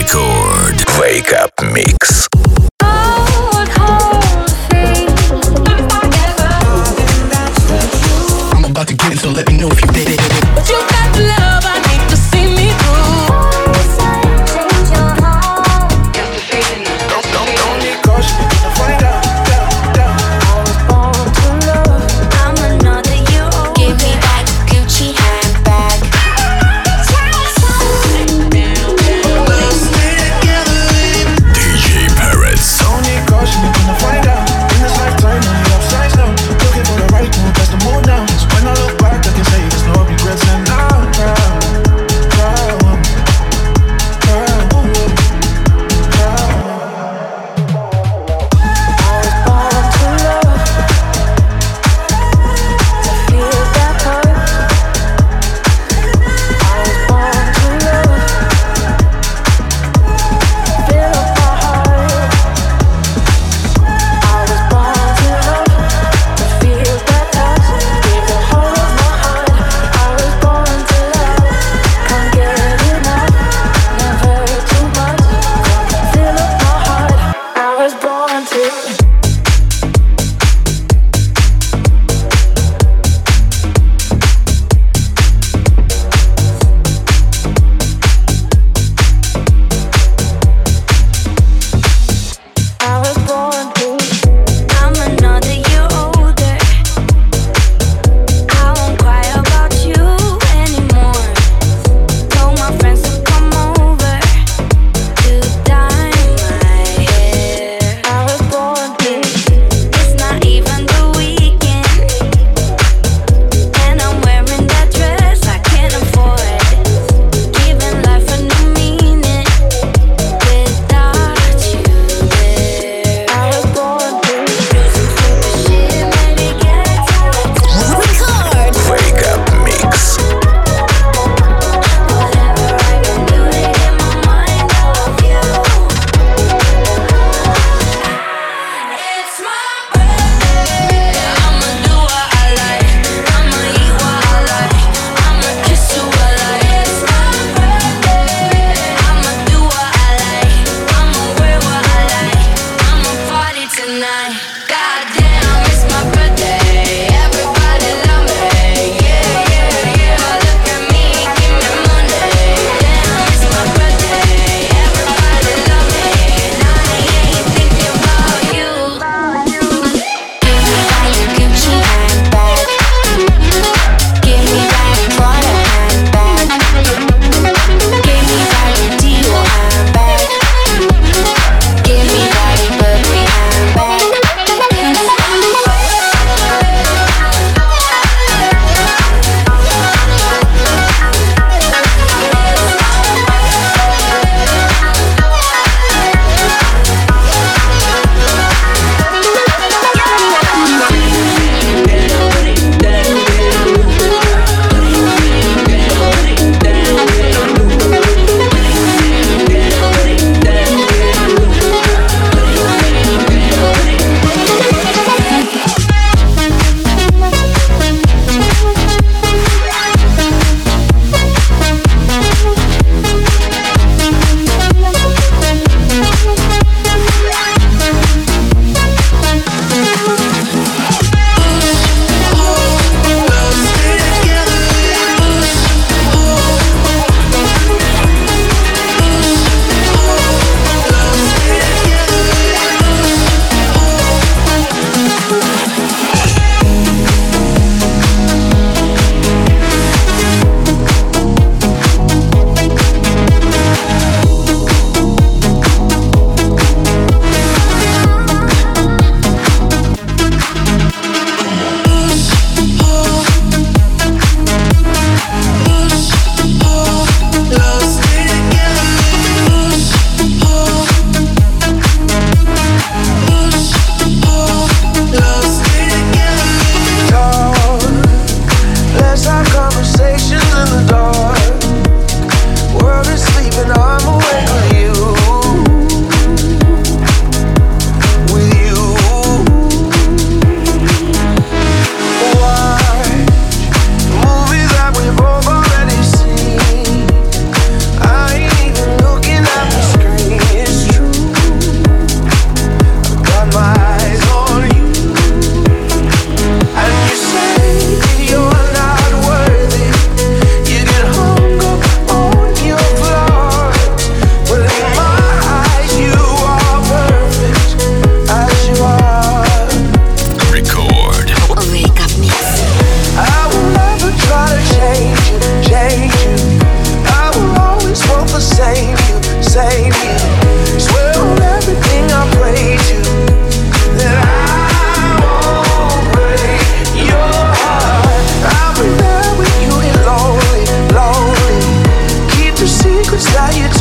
Record. Wake Up Mix. I'm about to get it, so let me know if you did it. But you got the love I need to see me through. Change your heart. Don't need caution. Find out. I was born to love. I'm another you. Give me that Gucci handbag. DJ Paradise.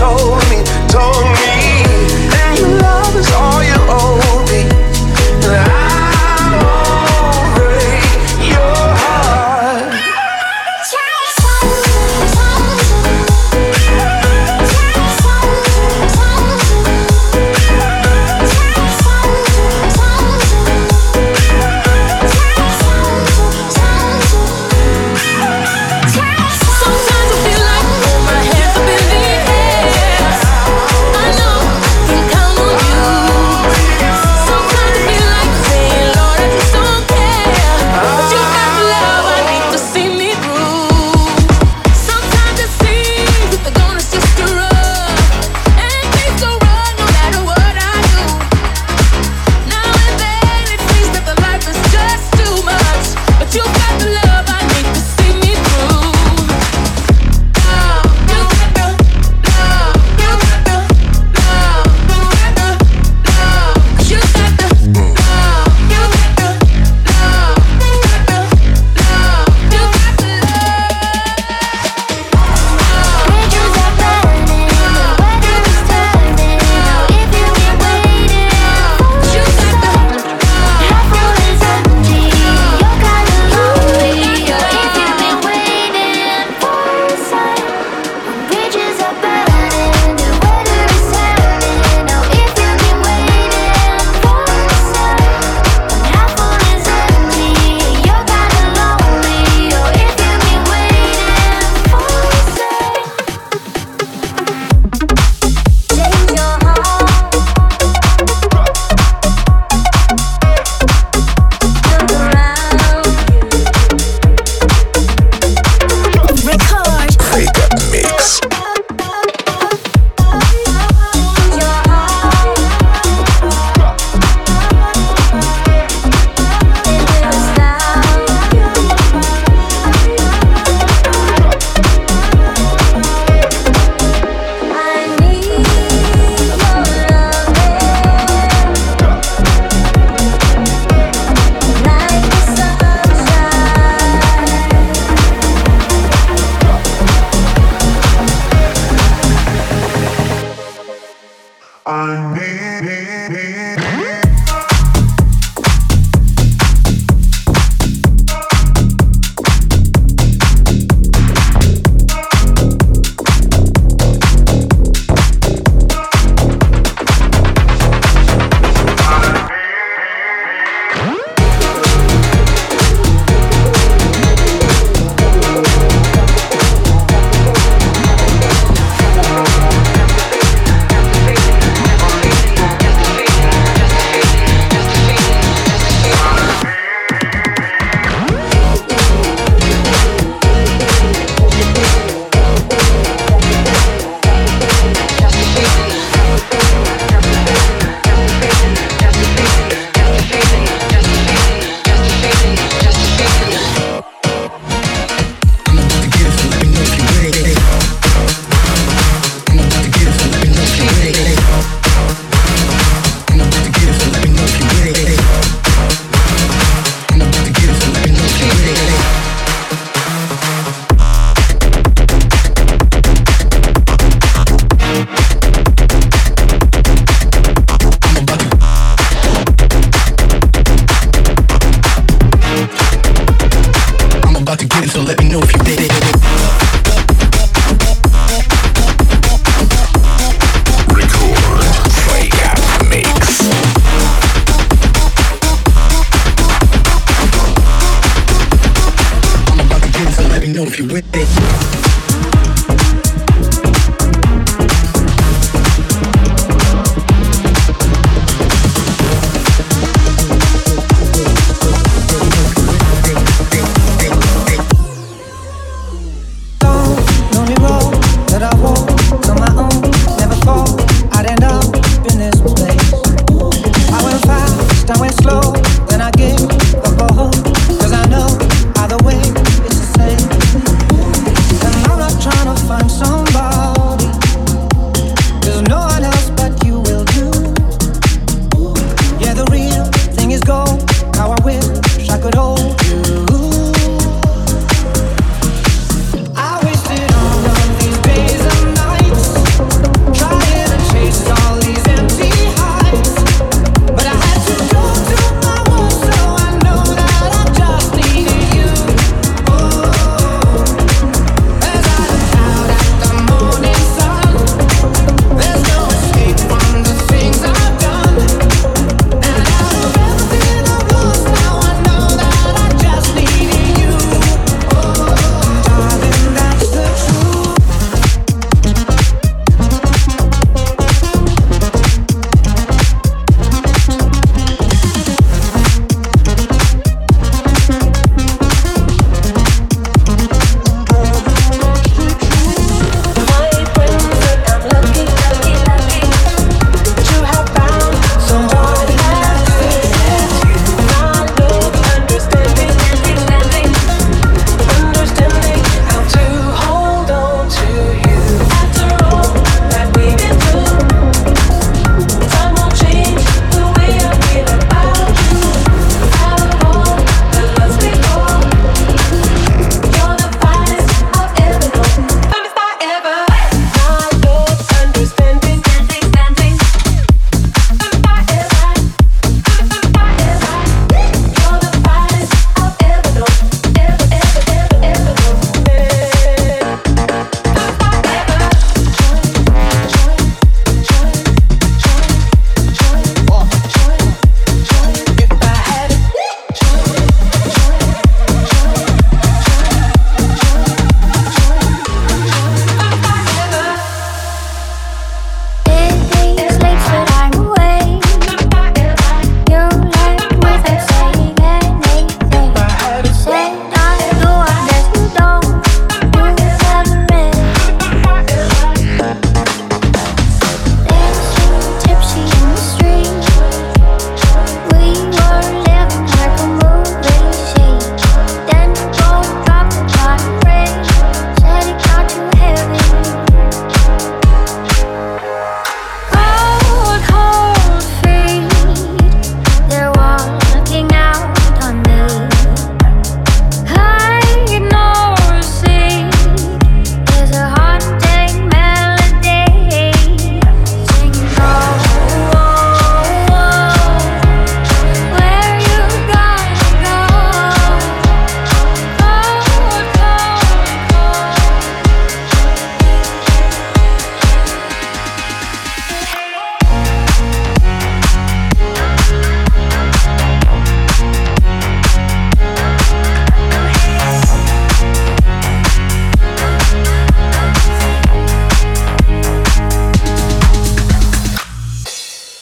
told me, and your love is all you owe me. I'm over your heart. Sometimes I feel like all my hands up in the air. I know I can count on you. Sometimes I feel like saying, Lord, I just don't care. But you got the love I need to see me through. Sometimes it seems that the going is just too rough, and things go wrong no matter what I do. Now and then it seems that the life is just too much, but you got the love I need to see me through. Wake Up Mix. I